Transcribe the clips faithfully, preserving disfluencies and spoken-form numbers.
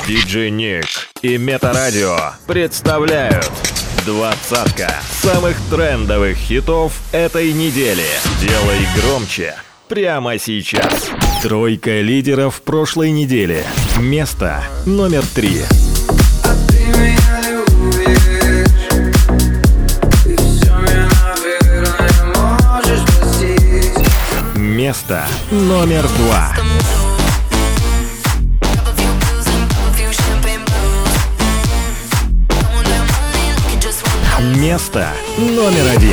диджей Ник и Метарадио представляют двадцатка самых трендовых хитов этой недели. Делай громче прямо сейчас. Тройка лидеров прошлой недели. Место номер три. Место номер два. Место номер один.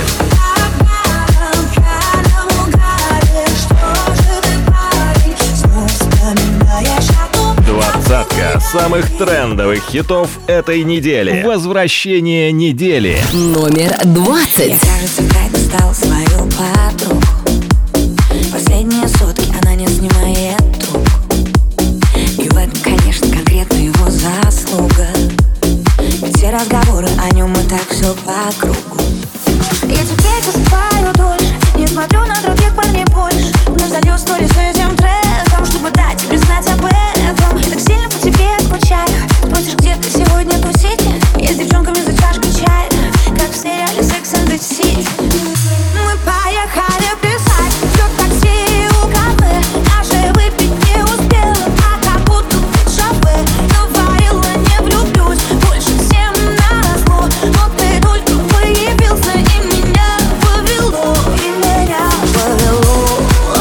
Двадцатка самых трендовых хитов этой недели. Возвращение недели. Номер двадцать. Я, кажется, опять достал свою подругу. Последние сутки она не снимает трубку. И в этом, конечно, конкретно его заслуга. Все разговоры о нем и так все по кругу. Я теперь засыпаю дольше, не смотрю на других парней больше. Но залью сторис с этим треком, чтобы дать тебе знать об этом. Так сильно по тебе скучаю. Спросишь, где ты сегодня тусить? Я с девчонками за чашкой чая, как в сериале Sex and the City. Мы поехали писать, все в такси у кафе. Даже выпить не успела, а как будто в шафе. Говорила, не влюблюсь больше всем назло. Но ты только появился и меня повело. И меня повело.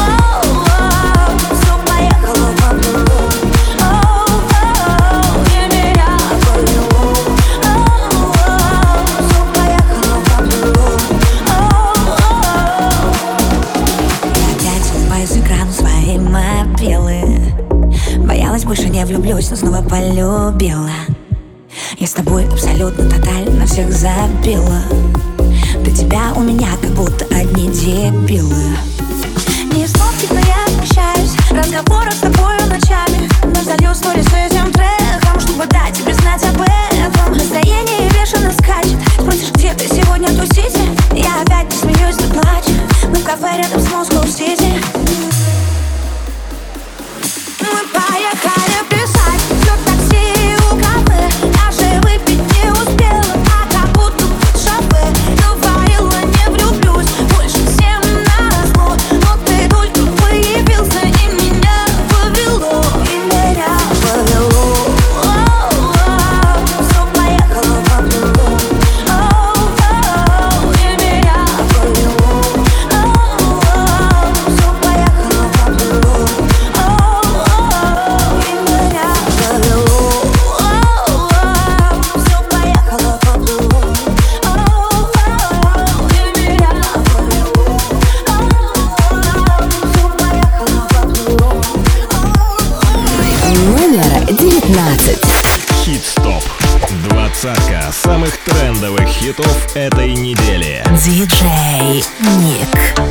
Все поехало по кругу. И меня повело. Все поехало по кругу. Я опять улыбаюсь экрану своей мобилы. Боялась, больше не влюблюсь, но снова полюбила. Я с тобой абсолютно тотально всех забила. До тебя у меня как будто одни дебилы. Не снов, но я смущаюсь в разговорах с тобою ночами. Но залью сторис с этим треком, чтобы дать тебе знать об этом. Настроение бешено скачет. Спросишь, где ты сегодня тусить? Я опять не смеюсь, да плачу. Мы в кафе рядом с Москва-Сити. Мы поехали писать, все в такси у кафе. Даже выпить не успела, а как будто в шафе. Говорила, не влюблюсь больше всем назло. Но ты только появился и меня повело. И меня повело. Все поехало по кругу. И меня повело. Все поехало по кругу. И меня повело. Все поехало по кругу. И меня повело. Все поехало по кругу. Номер девятнадцать. Хит-стоп. Двадцатка самых трендовых хитов этой недели. Диджей Ник.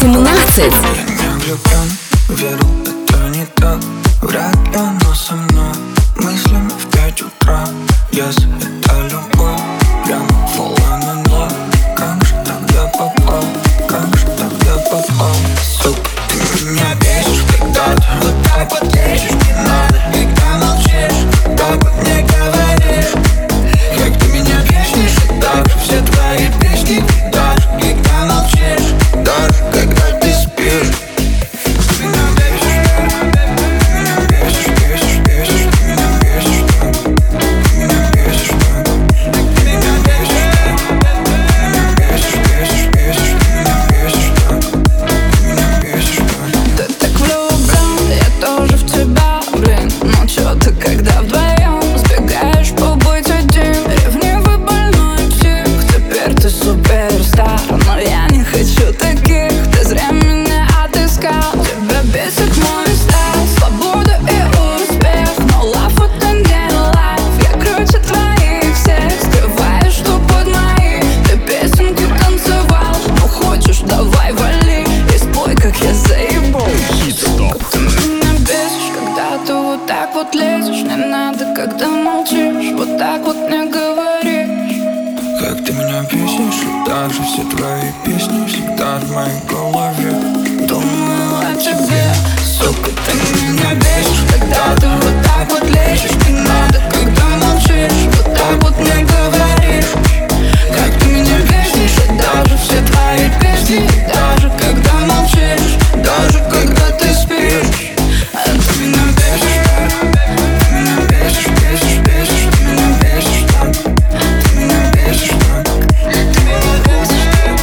семнадцать. Я не влюблен, верил, это не так. Вряд ли оно со мной, мыслями в пять утра. Если это любовь, прям фола на ноль. Как же тогда попал, как же тогда попал? Сука, ты меня бесишь, когда ты вот так вот лезешь. Не надо, когда молчишь, так вот не говоришь. Как ты меня бесишь, и так же все твои песни. Даже когда молчишь, даже когда ты спишь. Ты меня бесишь, ты меня бесишь, бесишь, бесишь. Ты меня бесишь, ты меня бесишь, ты меня бесишь, ты меня бесишь, бесишь, бесишь. Ты меня бесишь, ты меня бесишь. Ты так влюблен, я тоже в тебя, блин. Ну чё ты, когда вдвоем сбегаешь побыть один? Ревнивый больной псих, теперь ты суперстар. Но я не хочу таких, ты зря меня отыскал. Тебя бесит мой стиль, свобода и успех. Но love это не life, я круче твоих всех. Скрываешь, что под мои ты песенки танцевал. Ну хочешь, давай вали и спой, как я заебал. Ты меня бесишь, когда ты вот так вот лезешь. Не надо, когда молчишь, вот так вот не говоришь. Как ты меня бесишь, и так же все твои песни всегда в моей голове. Думаю о тебе, сука, ты меня бесишь, когда ты вот так вот лезешь. Не надо, когда молчишь, вот так вот не говоришь. Как ты меня бесишь, и даже все твои песни. Даже когда молчишь, даже когда ты спишь. А ты меня бесишь, ты меня бесишь, бесишь, бесишь. Ты меня бесишь, ты меня бесишь, ты меня бесишь.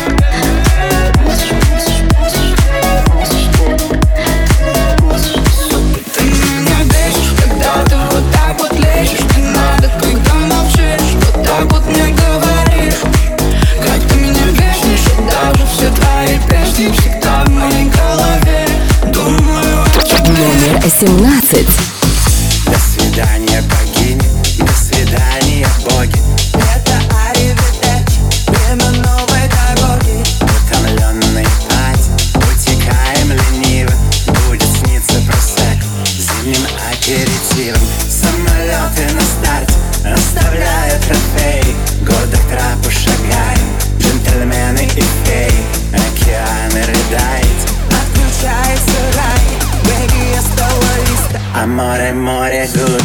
Ты меня бесишь, когда ты вот так вот лезешь. Не надо, когда молчишь, вот так вот не говоришь. Как ты меня бесишь, и даже все твои песни всегда в моей голове. Думаю о тебе. Номер семнадцать. До свидания, богини, до свидания, боги. Это аривидерчи, время новой дороги. Утомленный пать, утекаем лениво. Будет сниться просек зимним аперитивом. Самолеты на старте оставляют трофеи. Годы к трапу шагаем, джентльмены и феи. Океаны рыдает, отключается рай. Беги, я стала листа, а море, море, good.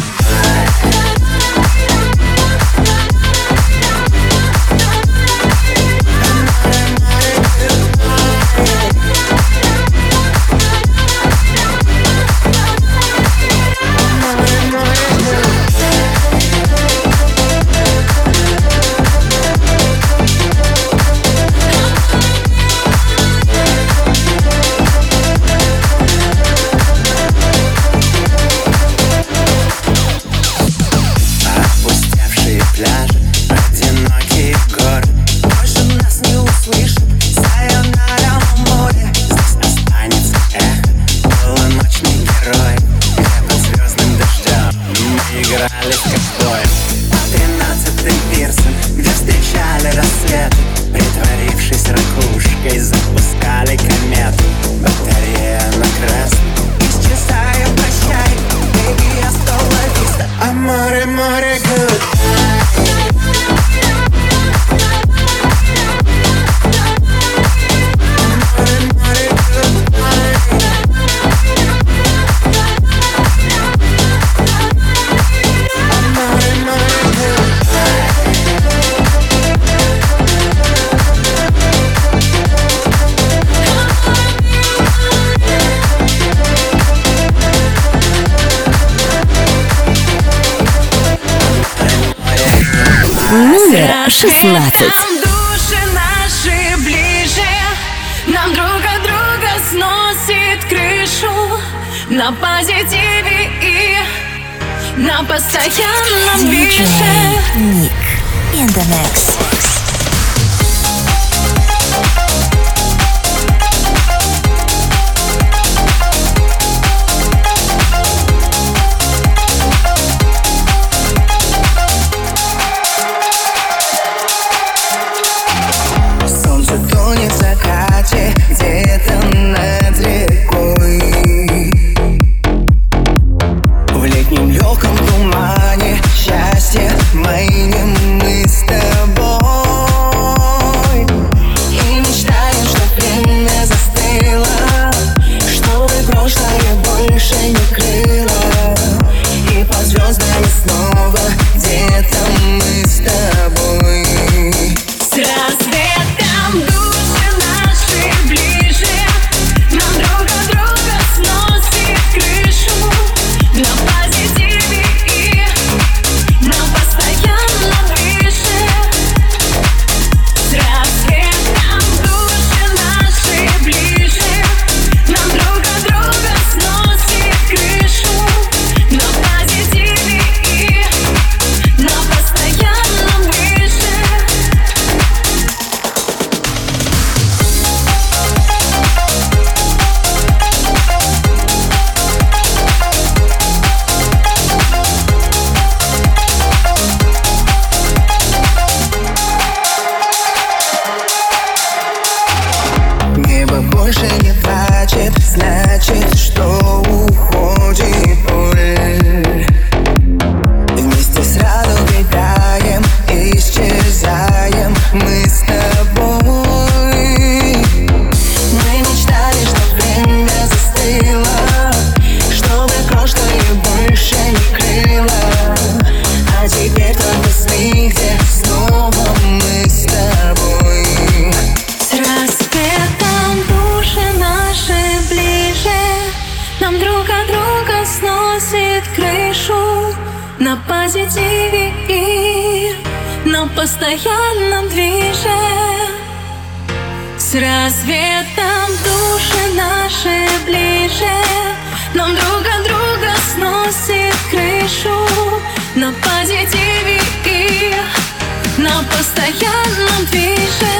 Опустевшие пляжи, одинокие горы. Больше нас не услышит сайонара море. Здесь останется эхо полуночных героев, где под звездным дождем мы играли в ковбоев. По тринадцатым пирсам, где встречали рассветы, притворившись ракушкой, запускали комету. Батарея на красный, исчезая, прощай. Беги, я стала виста, а море, море, good. Номер шестнадцать. Нам души наши ближе, нам друг от друга сносит крышу. На позитиве и на постоянном движе. Ник in the mix. Солнце тонет в закате, где-то больше не плачет, значит, что уходит боль. Вместе с радугой таем, исчезаем мы с тобой. Мы мечтали, что время застыло, чтобы прошлое больше не крыло. А теперь только сны, где снова мы с тобой. С рассветом души наши ближе, нам друг от друга сносит крышу. На позитиве и на постоянном движе. С рассветом души наши ближе, нам друг от друга сносит крышу. На позитиве и на постоянном движе.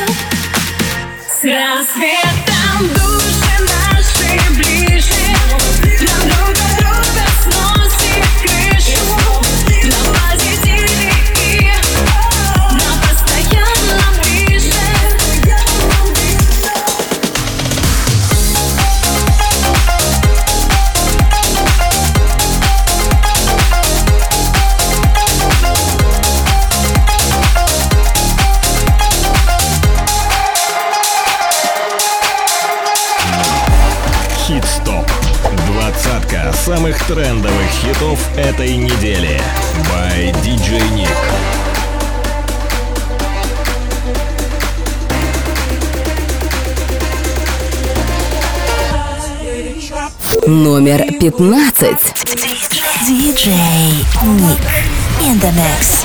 С рассветом души наши ближе, нам друг от друга сносит крышу. На позитиве и на постоянном движе. Хит-стоп. Двадцатка самых трендовых хитов этой недели. By ди джей Nick. Номер пятнадцать. ди джей Nick in the mix.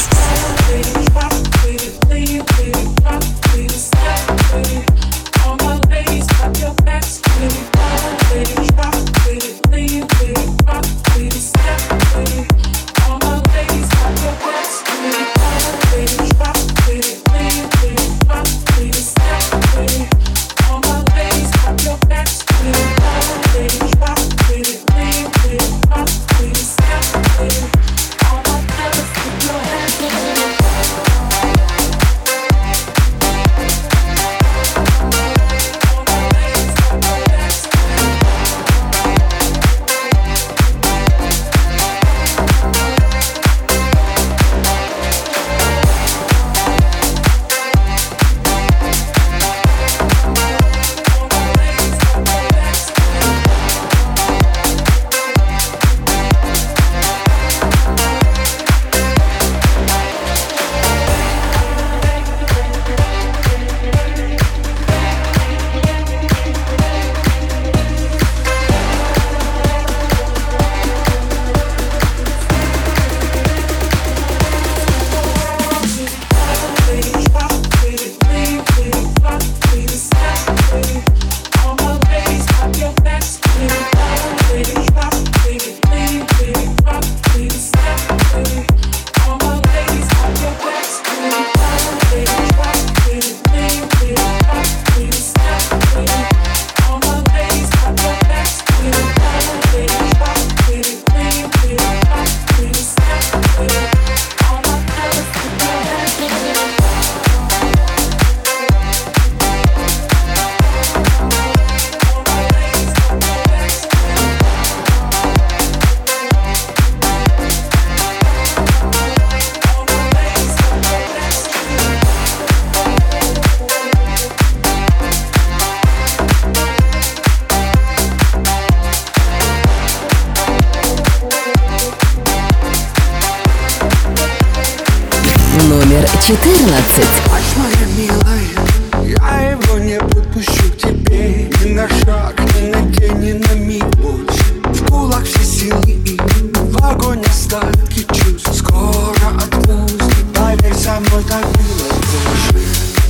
четырнадцать. Моя милая, я его не подпущу к тебе ни на шаг, ни на день, ни на миг больше. В кулак все силы и в огонь остатки чувств. Скоро отпусти, поверь, со мной так было больше.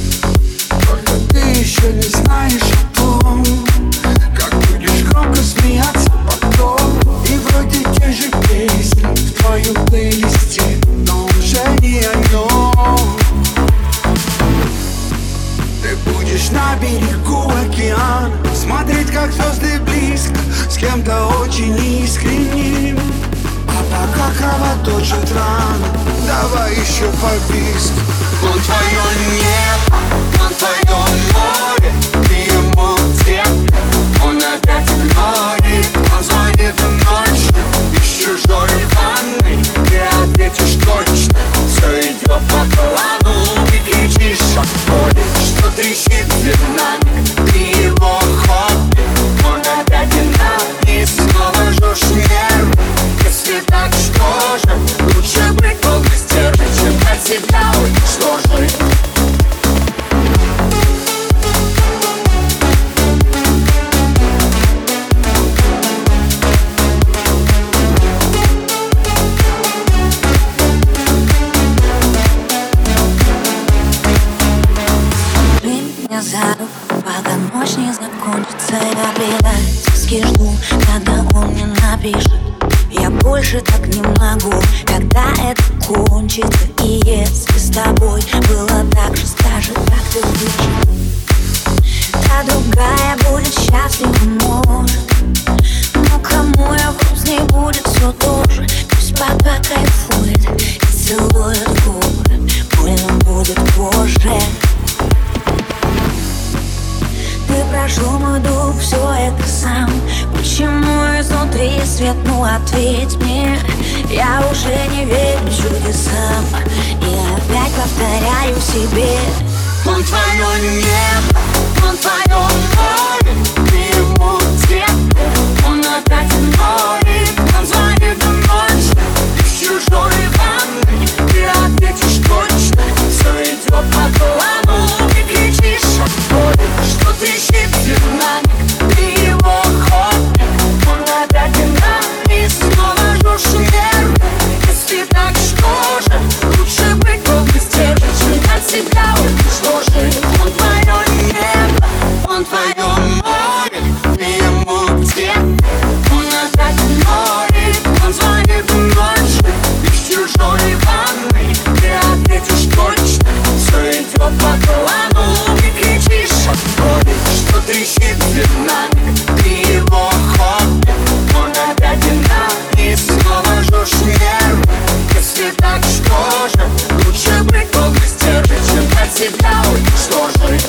Только ты еще не знаешь о том, как будешь громко смеяться потом. И вроде те же песни в твоем плейлисте, но уже не о нем. Ты будешь на берегу океана, смотреть, как звезды близко, с кем-то очень искренним. А пока кровоточит рана, давай еще побиск. Он твое небо, он твое море, ты ему сердце я предательски жду, когда он мне напишет. Я больше так не могу, когда это кончится. И если с тобой было так же, скажи, как ты выжил. Та другая будет счастлива, может, но кому я грустней будет все тоже. Пусть пока кайфует и целует губы, больно будет позже. Ты прошел мой дух, все это сам. Почему изнутри свет, ну ответь мне. Я уже не верю чудесам и опять повторяю себе: он твое небо, он твое море, ты ему где-то, он опять игнорит. Он звонит ночью, из чужой ванны, ты ответишь точно, все идет по плану. Ты кричишь от боли, что трещит динамик, ты его хобби, он опять динамик, снова жжешь нервы. Если так, что же, лучше быть глупо сдержан, чем от себя уничтожить. Он твое небо, он твое море, ты ему где? Он опять игнорит, он звонит ночью, из чужой ванны, ты ответишь точно, все идет по плану. Ты кричишь от боли, что трещит динамик, ты его хобби, он опять динамик, снова жжешь нервы. Если так, что же, лучше быть глупо сдержан, чем от себя уничтожить.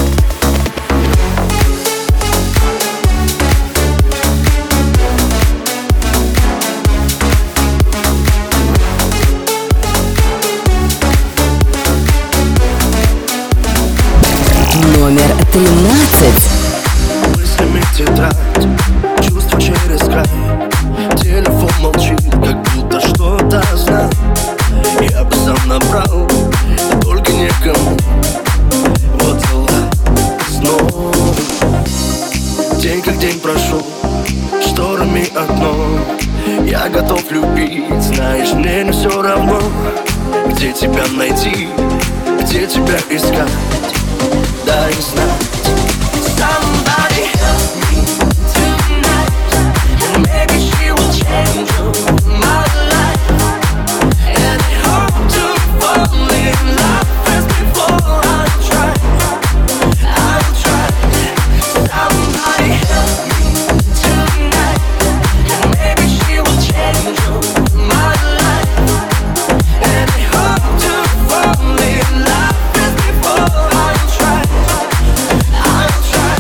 Номер тринадцать. Мыслями тетрадь, чувства через край. Телефон молчит, как будто что-то знал. Я бы сам набрал, только некому. Вот дела снова. День как день прошел, шторами окно. Я готов любить, знаешь, мне не все равно. Где тебя найти, где тебя искать, дай знать. Somebody help me tonight, and maybe she will change my life. And I hope to fall in love as before. I'll try, I'll try. Somebody help me tonight, and maybe she will change my life. And I hope to fall in love as before. I'll try, I'll try.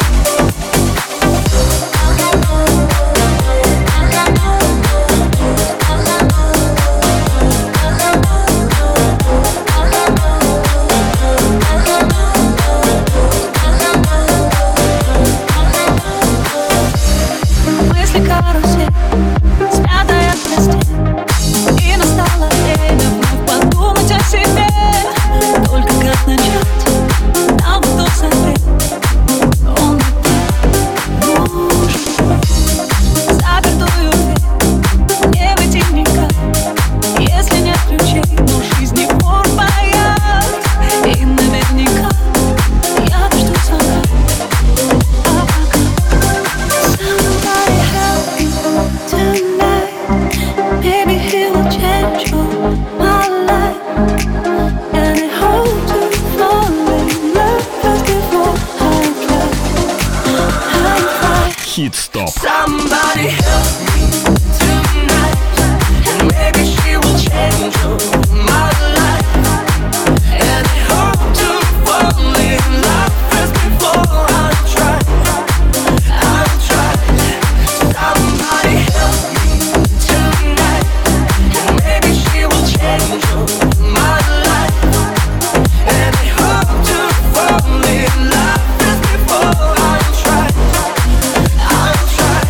Мысли карусель, смятая постель, и настало время вновь подумать о себе. Только как начать, нам бы тот совет, он бы так нужен. Запертую дверь, не выйти никак, если нет ключей, но жизни пор боят. И наверняка я жду звонка. А пока somebody help me tonight, maybe he will change my life. And I hope to fall in love as before. I'll try, I'll try. Хит-стоп. Somebody help me tonight, and maybe she will change my life. And I hope to fall in love as before. I'll try, I'll try. Somebody help me tonight, and maybe she will change my life. And I hope to fall in love as before. I'll try, I'll try.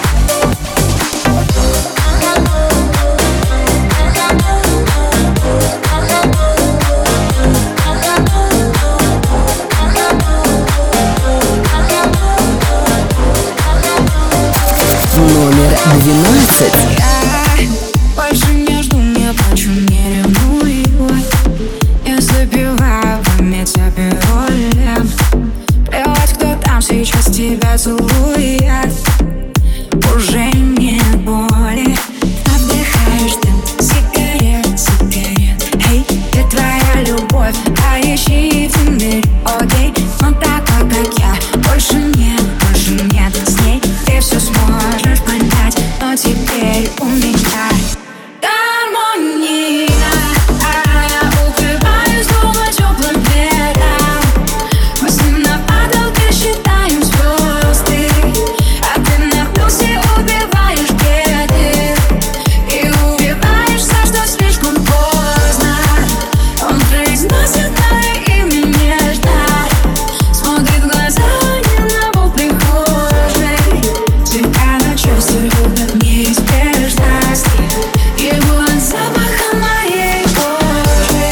Номер двенадцать. Я больше не жду, не плачу, не ревную. Я забиваю память о пароле. Плевать, кто там сейчас тебя поцелуях уже нет боли. Вдыхаешь дым сигарет, сигарет. Эй, ты твоя любовь, а ищи в мире, окей. Но такой, как я, больше нет, больше нет. С ней ты все сможешь понять, но теперь у меня гармония. Укрываюсь дома теплым ветром. Мы с ним на падалке считаем звезды, а ты на плюсе убиваешь беды и убиваешься, что слишком поздно. Он произносит мое имя нежно, смотрит в глаза не на пол прихожей. Тебя на части любят неизбежность его от запаха моей кожи.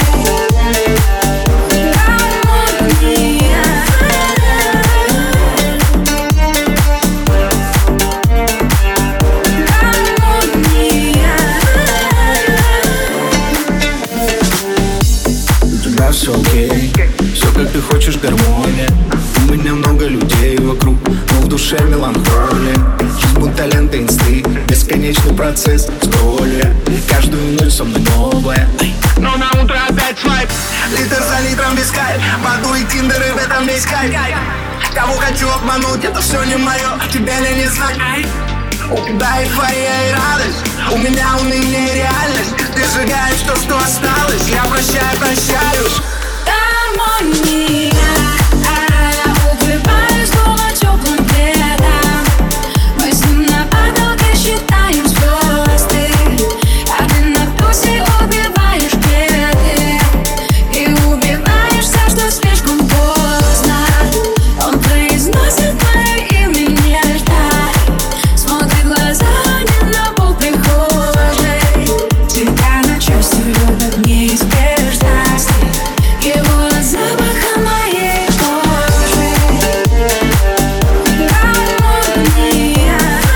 Гармония. У тебя все окей, все как ты хочешь, гармония. У меня много людей вокруг, но в душе меланхолия. Жизнь будто лента инсты, бесконечный процесс скролля. Каждую ночь со мной новая, но на утро опять свайп. Литр за литром без кайф, воду и тиндеры, в этом весь кайф. Кого хочу обмануть, это все не мое, тебе ли не знать. У тебя эйфория и радость, у меня уныние и реальность. Ты сжигаешь то, что осталось, я прощаю, прощаюсь. Гармония. Укрываюсь дома теплым ветром. Мы с ним на падалке считаем звезды, а ты на плюсе убиваешь беды и убиваешься, что слишком поздно. Он произносит мое имя нежно, смотрит в глаза не на пол прихожей. Тебя на части любят неизбежность его от запаха моей кожи. Гармония.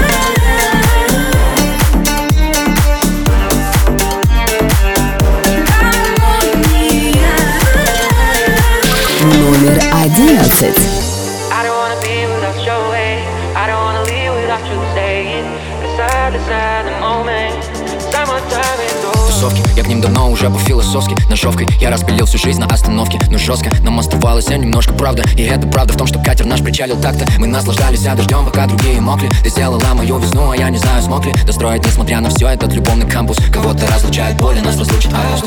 Гармония. Номер одиннадцать. I don't wanna be without your way. I don't wanna leave without you staying. Beside, beside the moment. Summertime is over. Тусовки, я к ним давно уже по-философски. Ножовкой я распилил всю жизнь на остановке. Но жестко нам оставалось немножко правда. И это правда в том, что катер наш причалил так-то. Мы наслаждались дождем, пока другие мокли. Ты сделала мою весну, а я не знаю, смог ли достроить, несмотря на все, этот любовный кампус. Кого-то разлучает боль, и нас разлучит август.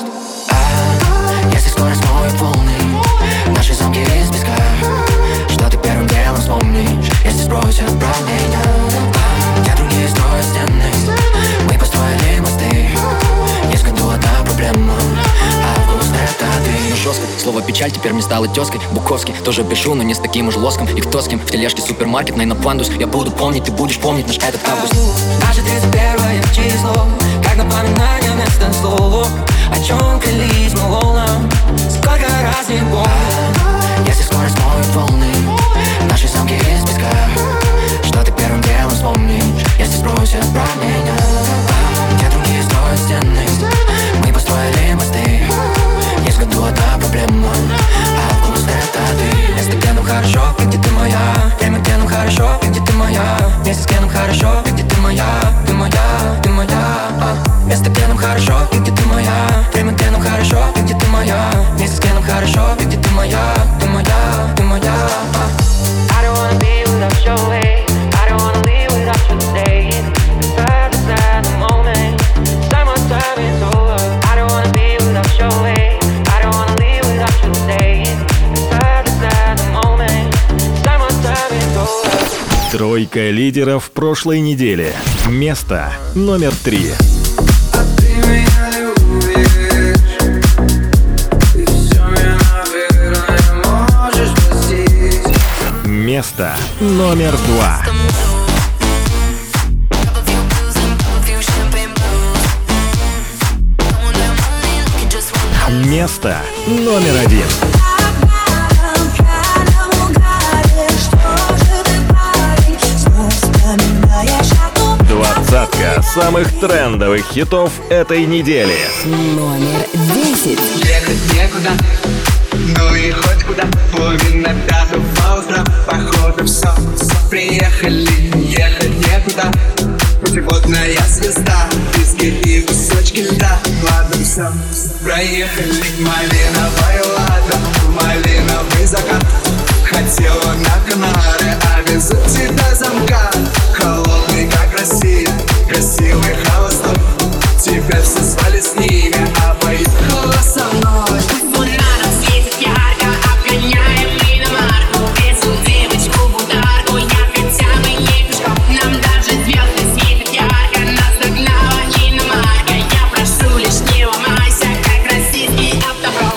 А, если скоро смоют волны наши замки из песка, что ты первым делом вспомнишь, если сбросят правления? Я другие строят стены, мы построили мосты. Есть в году одна проблема, август это ты. Но жестко, слово печаль теперь мне стало тезкой. Буковский тоже пишу, но не с таким уж лоском. И кто с кем в тележке супермаркетной на пандус. Я буду помнить, ты будешь помнить наш этот август. Наше тридцать первое число, как напоминание вместо слов. О чем клялись мы волнам, сколько раз не помню. Если скоро смоют волны наши замки из песка, что ты первым делом вспомнишь, если спросят про меня? Я другие строят стены, мы построили мосты. Есть в году одна проблема, август это ты. Место, где нам хорошо, и где ты моя. Время, где нам хорошо, и где ты моя. Место, где нам хорошо, и где ты моя. Ты моя, ты моя. Место, где нам хорошо, и где ты моя. Время, где нам хорошо, и где ты моя. Место, где нам хорошо, и где ты моя. Ты моя, ты моя. I don't wanna be without your way. I don't wanna leave without you staying. Beside, beside the moment. Summertime is over. I don't wanna be without your way. I don't wanna leave without you staying. Beside, beside the moment. Summertime is over. Тройка лидеров прошлой недели. Место номер три. Место номер два. Место номер один. Двадцатка самых трендовых хитов этой недели. Номер десять. Ехать некуда, ну и хоть куда. Половина пятого по утрам, походу в сон. вкусом. Проехали малиновый ладом, малиновый закат. Хотела на Канары, а везу тебя замка. Холодный, как Россия, красивый холостой. Теперь все спали с ними, а поехала со мной. Фонаром светит ярко, обгоняем иномарку. Везу девочку в ударку, я хотя бы не пешком. Нам даже звезды светят ярко, нас догнала иномарка. Я прошу, лишь не ломайся, как российский автопром.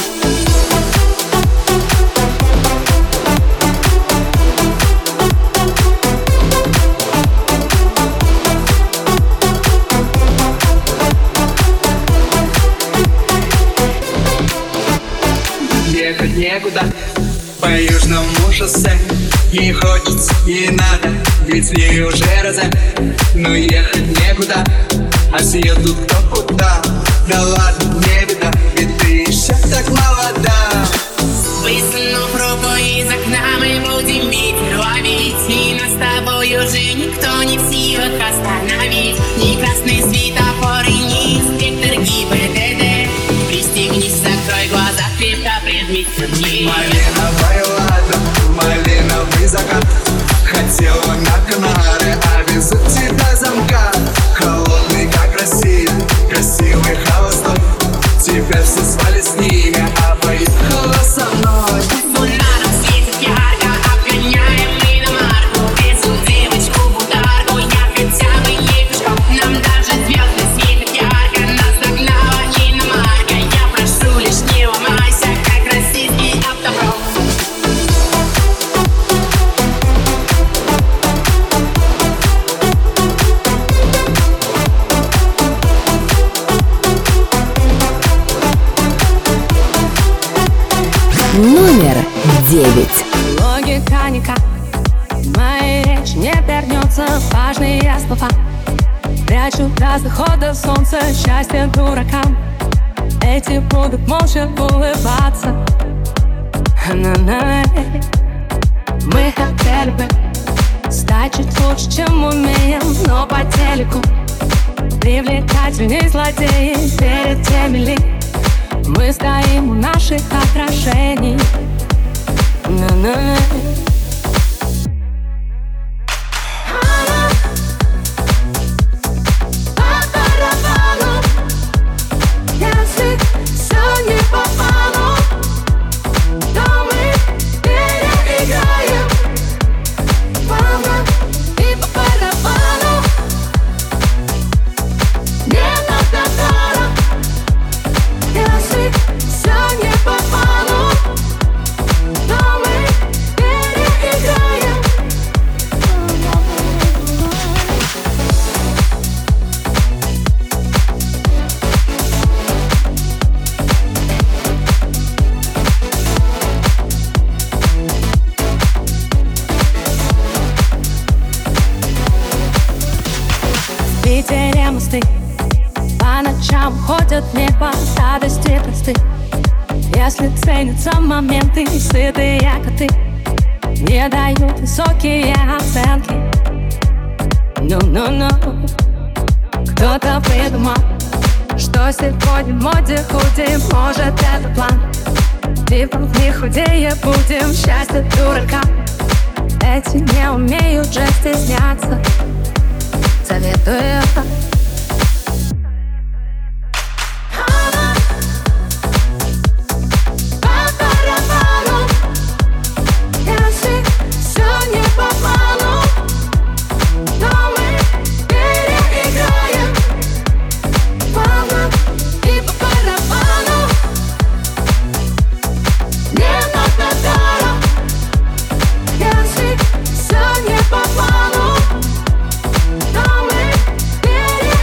Ехать некуда по южному шоссе. Ей хочется, ей надо, ведь в ней уже розе. Но ехать некуда, а съедут кто куда. Да ладно, не беда, ведь ты еще так молода. Высунув руку из окна, мы будем ветер ловить. И нас с тобой уже никто не в силах остановить. Ни красный светофор и ни инспектор ГИБДД. Пристегнись, закрой глаза, крепко прижмись ко мне. Малиновый ладом, малиновый закат. Хотела на Канары, а везу тебя замка. Холодный, как Россия, красивый холостой. Теперь все спали с ними, а поехала со мной. Фонаром светит ярко, обгоняем иномарку. Везу девочку в ударку, я хотя бы не пешком. Нам даже звезды светят ярко, нас догнала иномарка. Я прошу, лишь не ломайся, как российский автопром. Номер девять. Логика никак в моей речи не вернется. Важные слова прячу до захода солнца. Счастье дуракам, эти будут молча улыбаться. На-на-на. Мы хотели бы стать чуть лучше, чем умеем, но по телеку привлекательней злодеи перед теми ли. Мы стоим у наших отражений. На-на-на. По барабану, если все не по плану, то мы переиграем. Мама, и по барабану не надо даром. Если все не по плану, то мы переиграем. В Питере мосты по ночам ходят в небо радости просты. Если ценятся моменты, сытые коты не дают высокие оценки. Ну-ну-ну. Кто-то придумал, что сегодня в моде худи. Может, это план, типа не худее будем. Счастье дурака, эти не умеют же стесняться. Советую. Все не по плану, но мы переиграем.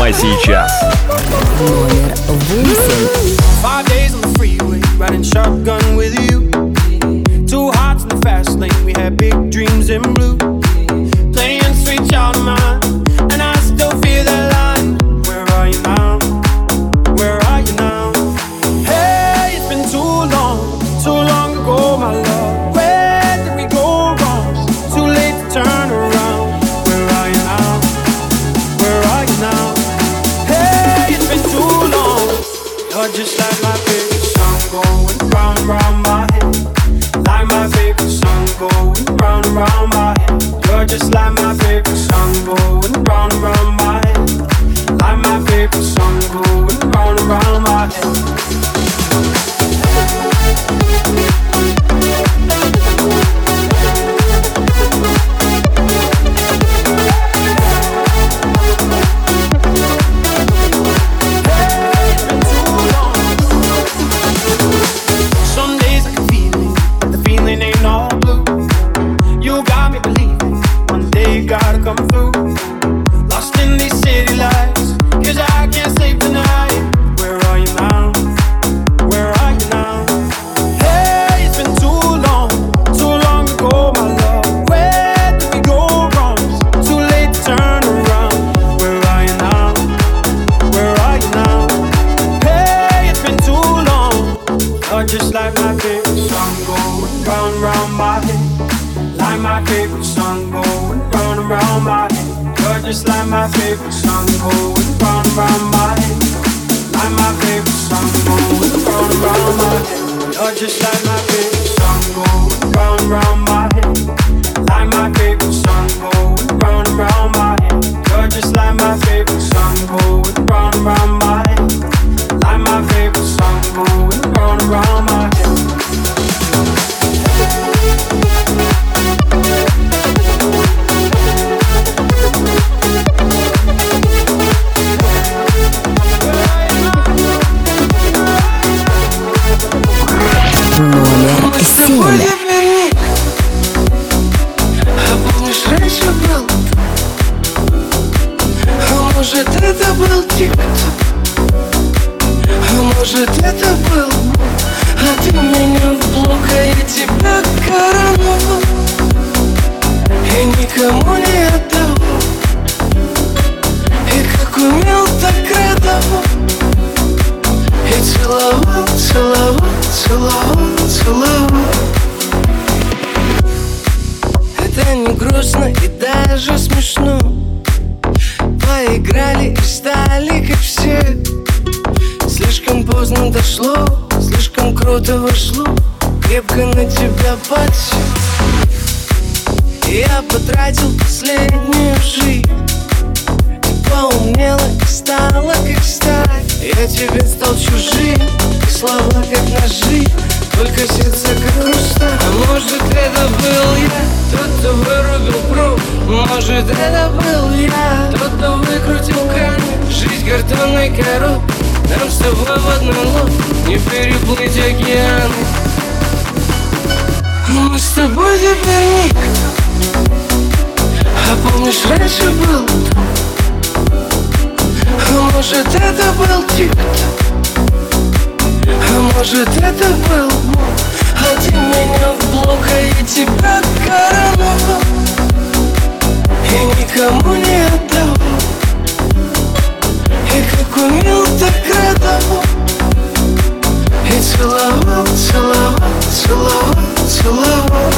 прямо сейчас. Номер восемь. Five days on the freeway, riding shotgun with you. Two hearts in the fast lane, we had big dreams in blue. Playing sweet child of mine, and I still feel that line. Where are you now? Where are you now? Hey, it's been too long, too long ago, my love. Where did we go wrong? Too late to turn around. Where are you now? Where are you now? Hey, it's been too long. You're just like my favorite song going round and round my head. Like my favorite song going round and round my head. You're just like my favorite song going round and round my head. Like my favorite song going round and round my head. Come through, lost in these city lights, 'cause I can't sleep tonight. Where are you now? Where are you now? Hey, it's been too long, too long ago, my love. Where did we go wrong? Too late to turn around. Where are you now? Where are you now? Hey, it's been too long. You're just like my favorite song going round and round my head. Like my favorite song going round and round my head. You're just like my favorite song going round and round my head. Like my favorite song going round and round my head. You're just like my favorite song going round and round my head. Like my favorite song going round and round my head. You're just like my favorite song going round and round my head. Like my favorite song going round and round my head. Номер семь. А помнишь, раньше был? А может, это был тик-ток? А может, это был? А ты меня в блок, а я тебя короновал и никому не отдавал. И как умел, так радовал. И целовал, целовал, целовал, целовал. Это не грустно и даже смешно. Поиграли и стали как все. Слишком поздно дошло, слишком круто вошло. Крепко на тебя подсел. Я потратил последнюю жизнь. Ты поумнела и стала как сталь. Я тебе стал чужим, и слова как ножи, только сердце как хрусталь. А может, это был я, тот, кто вырубил пруд. Может, это был я, тот, кто выкрутил кран. Жизнь картонной коробкой, нам с тобой в одной лодке не переплыть океаны. Мы с тобой теперь никто. А помнишь, раньше был? А может, это был тик-ток? А может, это был? А ты меня в блок, а я тебя короновал и никому не отдавал. И как умел, так радовал. И целовал, целовал, целовал, целовал.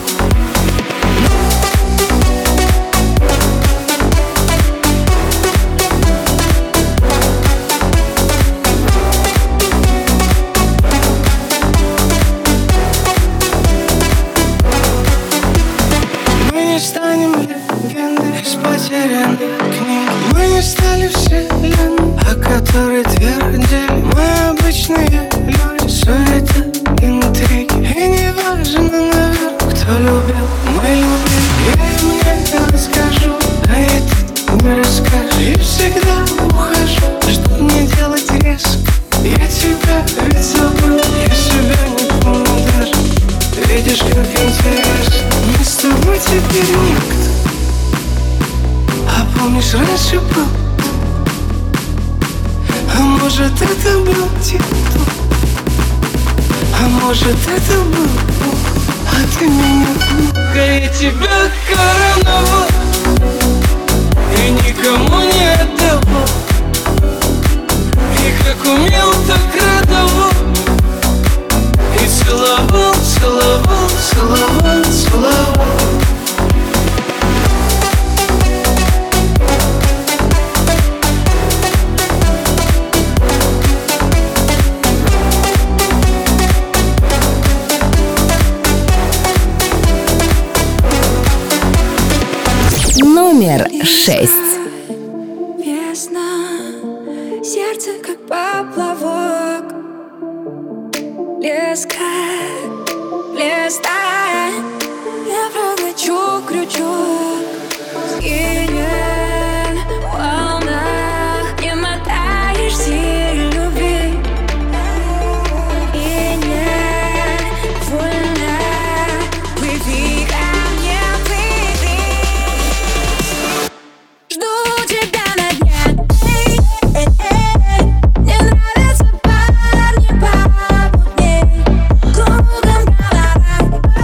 Потерянных книг. Мы не стали вселенной, о которой твердили. Мы обычные люди, суета, интриги. И не важно, наверное, кто любил, мы любим. Я им не расскажу, а и ты не расскажешь. И всегда ухожу, чтоб не делать резко. Я тебя ведь забыл, я себя не помню даже. Видишь, как интересно, мы с тобой теперь никто. А помнишь, раньше был? может это был титул, а может это был Бог, а ты меня Бога. Я тебя короновал и никому не отдавал, и как умел, так радовал, и целовал, целовал, целовал, целовал. Номер шесть. Весна, сердце как поплавок, леска, листа, я прокачу крючок, скинет в волнах, не мотаешься любви, и не вольно, плыви ко мне, плыви. Жду тебя на дне. Эй, эй, эй. Мне нравятся парни помутней. Кругом голова.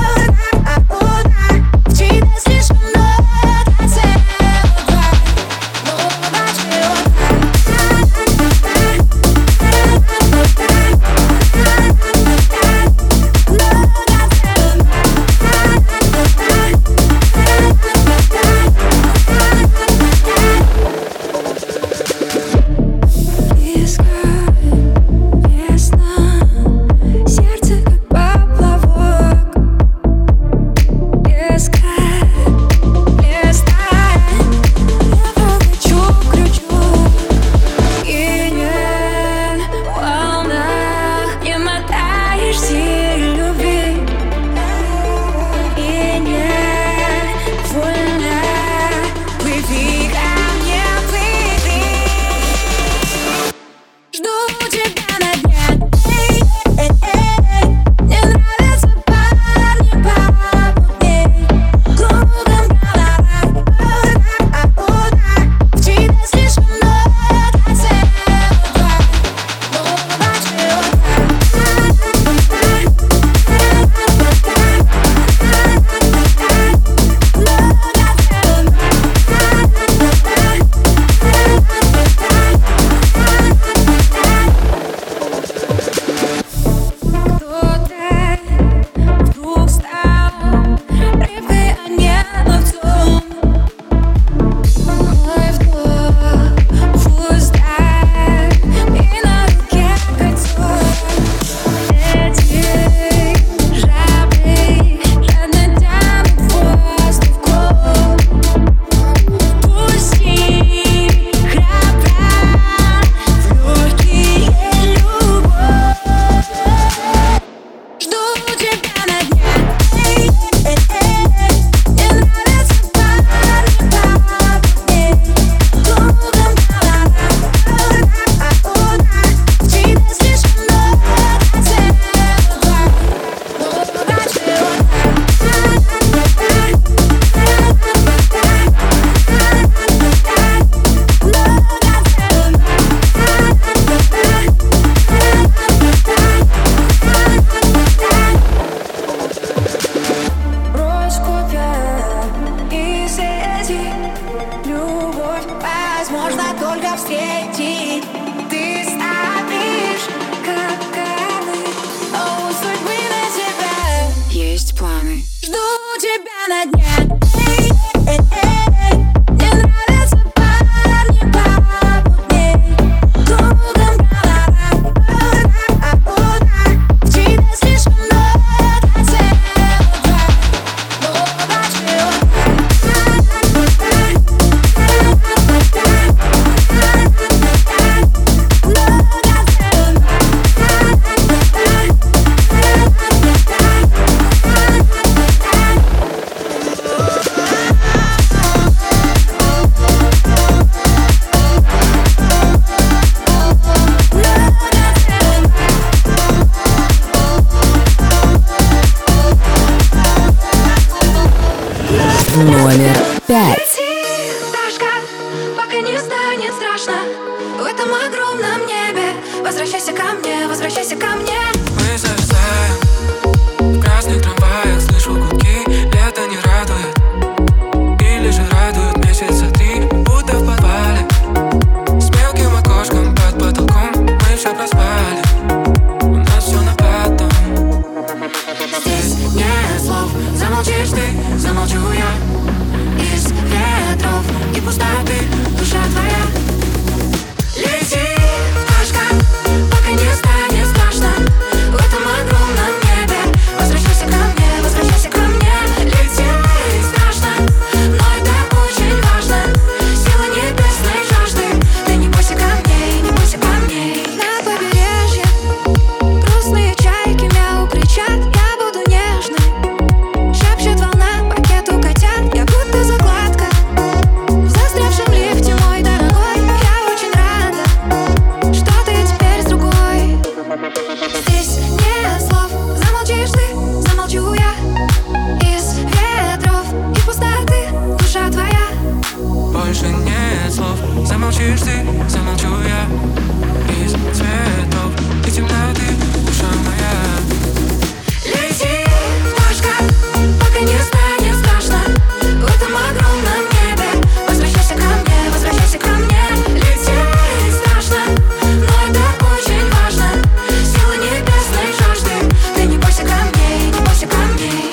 мне, возвращайся ко мне. Мы зависаем в красных трамваях, слышу гудки, лето не радует. Или же радует месяца три, будто в подвале. С мелким окошком под потолком мы все проспали. У нас все на потом. Здесь нет слов, замолчишь ты, замолчу я. Из ветров и пустоты душа твоя. Лети, пташка, пока не станет страшно. В этом огромном небе возвращайся ко мне, возвращайся ко мне. Лети, страшно, но это очень важно. Сила небесной жажды. Ты не бойся камней, не бойся камней. На побережье грустные чайки мяу кричат. Я буду нежной, шепчет волна пакету котят. Я будто закладка в застрявшем лифте, мой дорогой. Я очень рада, что ты теперь с другой. Здесь нет слов, замолчишь ты, замолчу я. Из ветров и пустоты душа твоя. Больше нет слов, замолчишь ты, замолчу я. Из цветов и темноты душа моя. Лети, пташка, пока не станет страшно. В этом огромном небе возвращайся ко мне, возвращайся ко мне. Лети, страшно, но это очень важно. Сила небесной жажды. Ты не бойся камней, не бойся камней.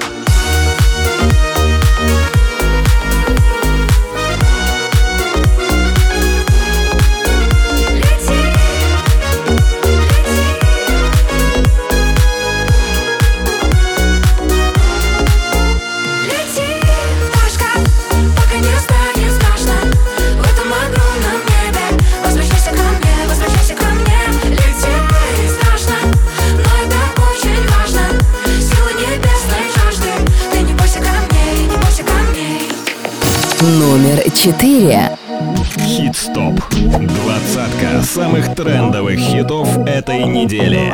Лети, пташка, пока не станет страшно. В этом огромном небе возвращайся ко мне, возвращайся ко мне. Лети, страшно, но это очень важно. Сила небесной жажды. Ты не бойся камней, не бойся камней. Номер четыре. Хит-стоп. Двадцатка самых трендовых хитов этой недели.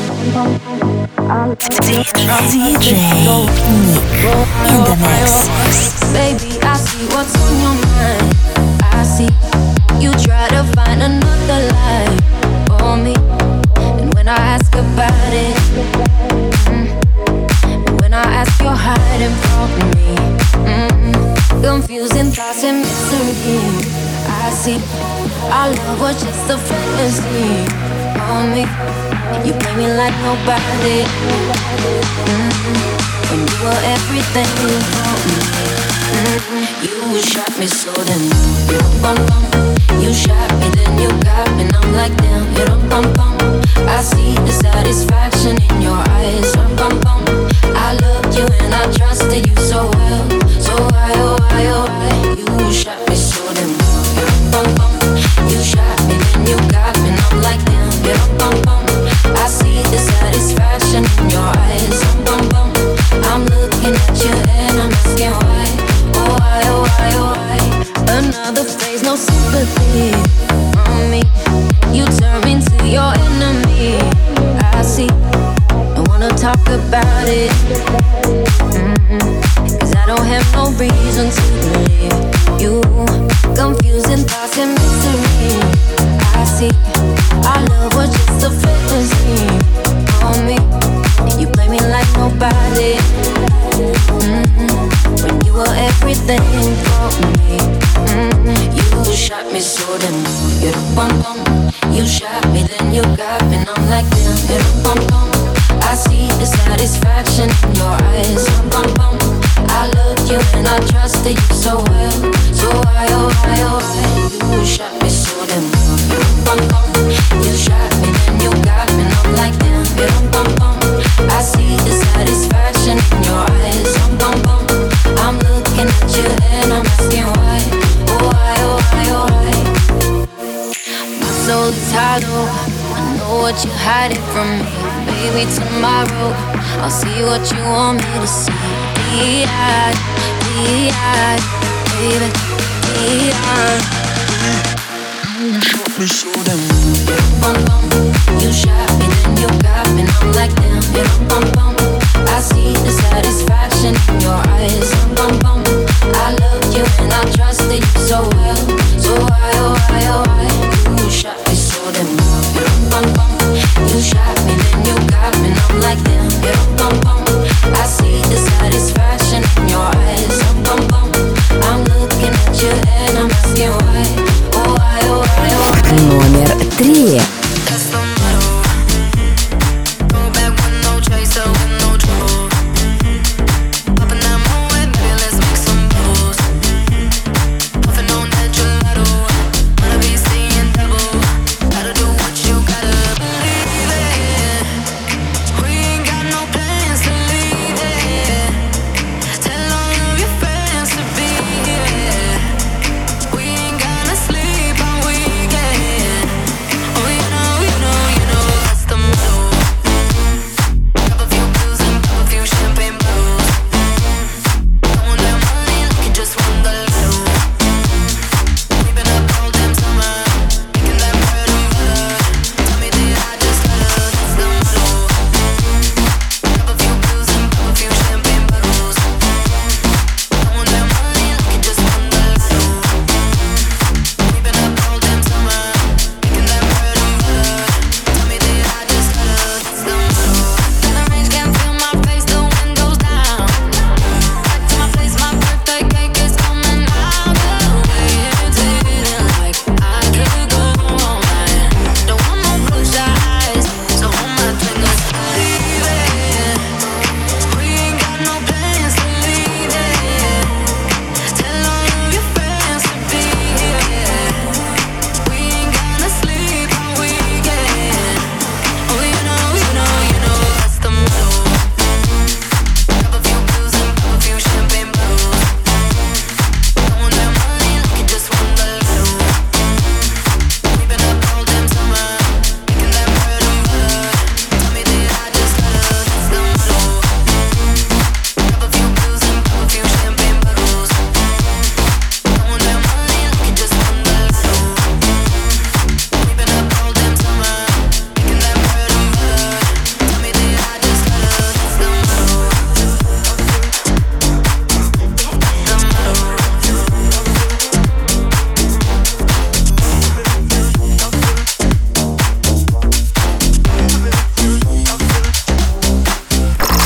Диджей Ник in the mix. Baby, I see what's on your mind. I see you try to find another life for me. And when I ask about it, mm, when I ask, you're hiding from me. Mm, confusing thoughts and mystery. I see our love was just a fantasy for me. You play me like nobody. Mm-hmm. When you were everything for me. Mm-hmm. You shot me so then you bum bum. You shot me then you got me and I'm like damn. You don't bum bum. I see the satisfaction in your eyes. Bum bum bum. I loved you and I trusted you so well. So why oh why oh why you shot me so then you bum bum. You shot me then you got me and I'm like damn. You don't bum bum. I see the satisfaction in your eyes. Bum bum bum. I'm looking at you and I'm asking why. Oh why, oh why, oh why. Another phase, no sympathy from me. You turn me to your enemy. I see, I wanna talk about it. Mm-hmm. Cause I don't have no reason to believe you. Confusing thoughts and mystery. I see, our love was just a fantasy for me. You play me like nobody. Mm-hmm. When you were everything for me. Mm-hmm. You shot me so then you bum bum. You shot me then you got me and I'm like damn. You bum bum. I see the satisfaction in your eyes. Bum bum. I loved you and I trusted you so well. So why oh why oh why you shot me so then you bum bum. You shot me then you got me and I'm like damn. You bum bum. I see the satisfaction in your eyes. Bum bum. I'm looking at you and I'm asking why. Oh why, oh why, oh why. My soul tired, oh, I know what you're hiding from me. Baby, tomorrow I'll see what you want me to see. D-I, D-I, baby, D-I. You shot me so damn. Bum bum. You shot me then you got me and I'm like damn. You bum bum. I see the satisfaction in your eyes. Bum bum. I loved you and I trusted you so well. So why oh why oh why you shot me so damn. Bum bum.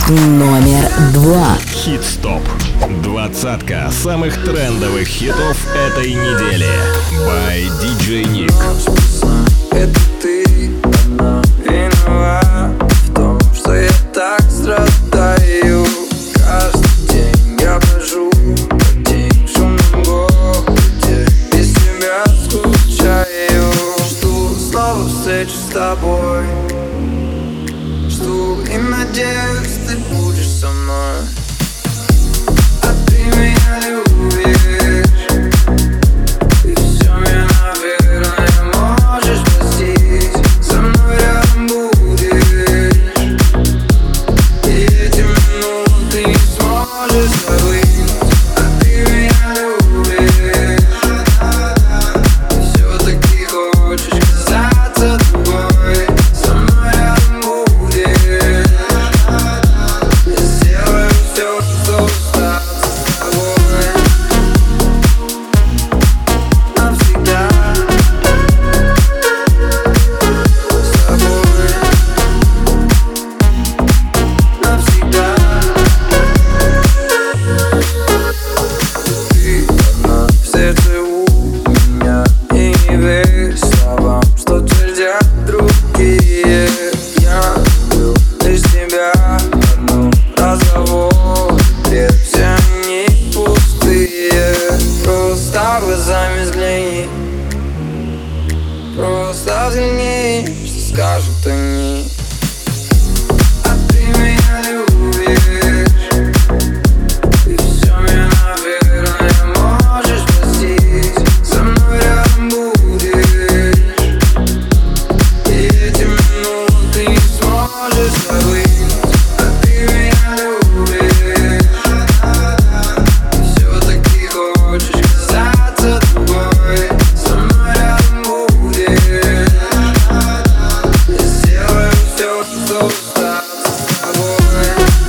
Номер два. Хит-стоп. Двадцатка самых трендовых хитов этой недели. By ди джей Nick. Это ты одна виновата в том, что я так страдаю. Каждый день я брожу по день в шумном городе, без тебя скучаю. Жду снова встречи с тобой, жду и надеюсь, ты будешь со мной. А ты меня любишь, и все меня, наверное, можешь простить. Со мной рядом будешь, и эти минуты не сможешь забыть. А ты меня любишь, и все-таки хочешь казаться другой. Со мной рядом будешь, я сделаю все, чтобы остаться с тобой навсегда. С тобой навсегда. Ты одна в сердце у меня, и не верь словам, что твердят другие. Я люблю лишь тебя одну. Разговоры бред, все они пустые. Просто глазами взгляни, просто взгляни, что скажут они. А ты меня любишь, и все меня, наверное, можешь простить. Со мной рядом будешь, и эти минуты не сможешь забыть. А ты меня любишь, и все-таки хочешь казаться другой. Со мной рядом будешь, я сделаю все, чтобы остаться с тобой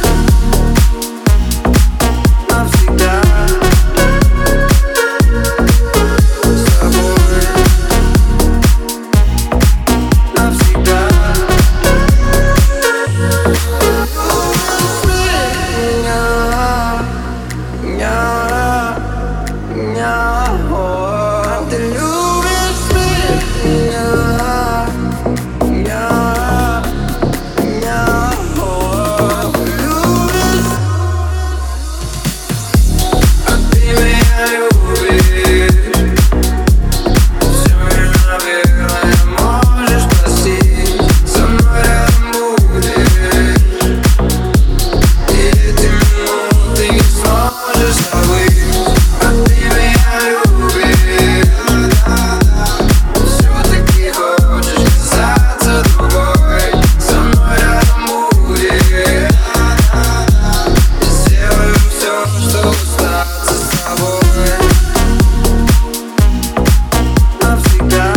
навсегда. С тобой навсегда. Меня, меня, о, ты любишь меня, меня, меня, о, ты любишь. А ты меня любишь, все меня, наверное, можешь простить. Со мной рядом будешь, и эти минуты не сможешь забыть. А ты меня любишь, все-таки хочешь казаться другой. Со мной рядом будешь, я сделаю все, чтобы остаться с тобой навсегда.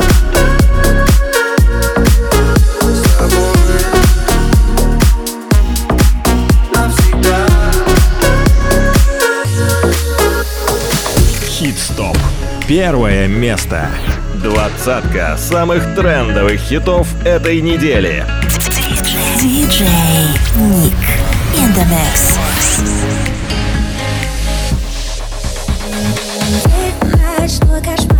С тобой навсегда. Хит-стоп. Первое место. Двадцатка самых трендовых хитов этой недели. ди джей Nick in the mix. Ночной кошмар.